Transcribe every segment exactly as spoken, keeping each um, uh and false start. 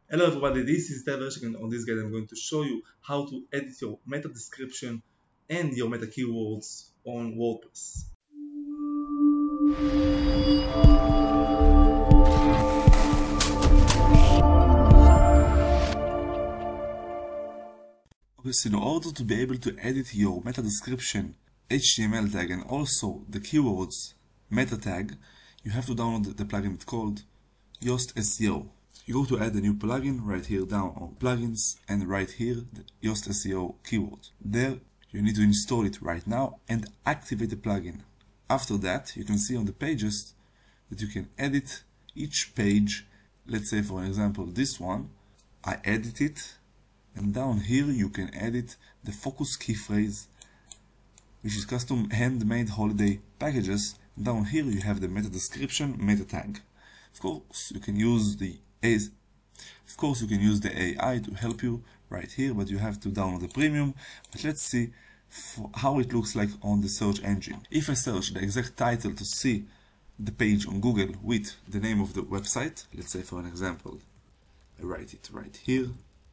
Hello everybody, this is Tel Vershik, and on this guide I'm going to show you how to edit your meta description and your meta keywords on WordPress. Okay, so in order to be able to edit your meta description, H T M L tag, and also the keywords meta tag, you have to download the plugin. It's called Yoast S E O. You go to add a new plugin, right here down on plugins, and right here the Yoast S E O keyword. There you need to install it right now and activate the plugin. After that, you can see on the pages that you can edit each page. Let's say for example this one, I edit it, and down here you can edit the focus key phrase, which is custom handmade holiday packages. Down here you have the meta description, meta tag. Of course you can use the Of course you can use the A I to help you right here, but you have to download the premium. But let's see how it looks like on the search engine. If I search the exact title to see the page on Google with the name of the website, let's say for an example, I write it right here,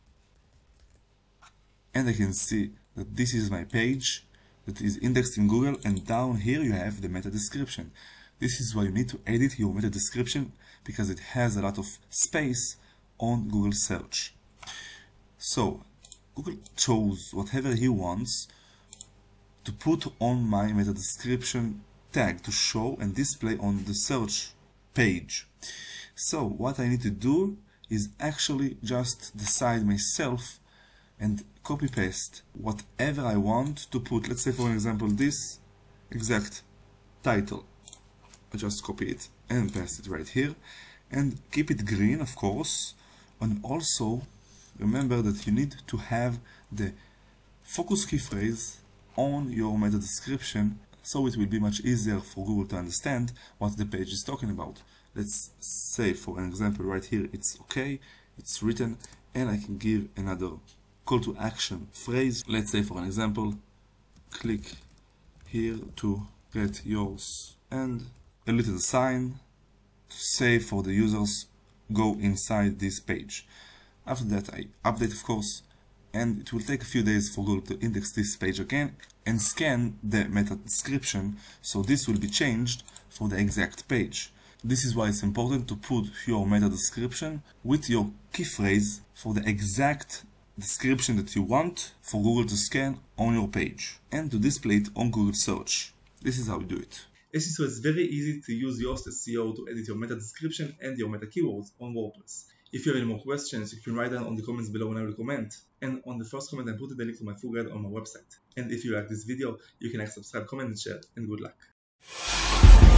and I can see that this is my page that is indexed in Google, and down here you have the meta description. This is why you need to edit your meta description, because it has a lot of space on Google search. So Google chose whatever he wants to put on my meta description tag to show and display on the search page. So what I need to do is actually just decide myself and copy paste whatever I want to put. Let's say for example this exact title. I just copy it and paste it right here, and keep it green, of course. And also remember that you need to have the focus key phrase on your meta description, so it will be much easier for Google to understand what the page is talking about. Let's say for an example right here it's okay, it's written, and I can give another call to action phrase. Let's say for an example, click here to get yours, and a little sign to say for the users go inside this page. After that I update, of course, and it will take a few days for Google to index this page again and scan the meta description, so this will be changed for the exact page. This is why it's important to put your meta description with your key phrase for the exact description that you want for Google to scan on your page and to display it on Google search. This is how we do it. So it's very easy to use Yoast S E O to edit your meta description and your meta keywords on WordPress. If you have any more questions, you can write down on the comments below and I will comment. And on the first comment I put the link to my full guide on my website. And if you like this video, you can like, subscribe, comment and share, and good luck.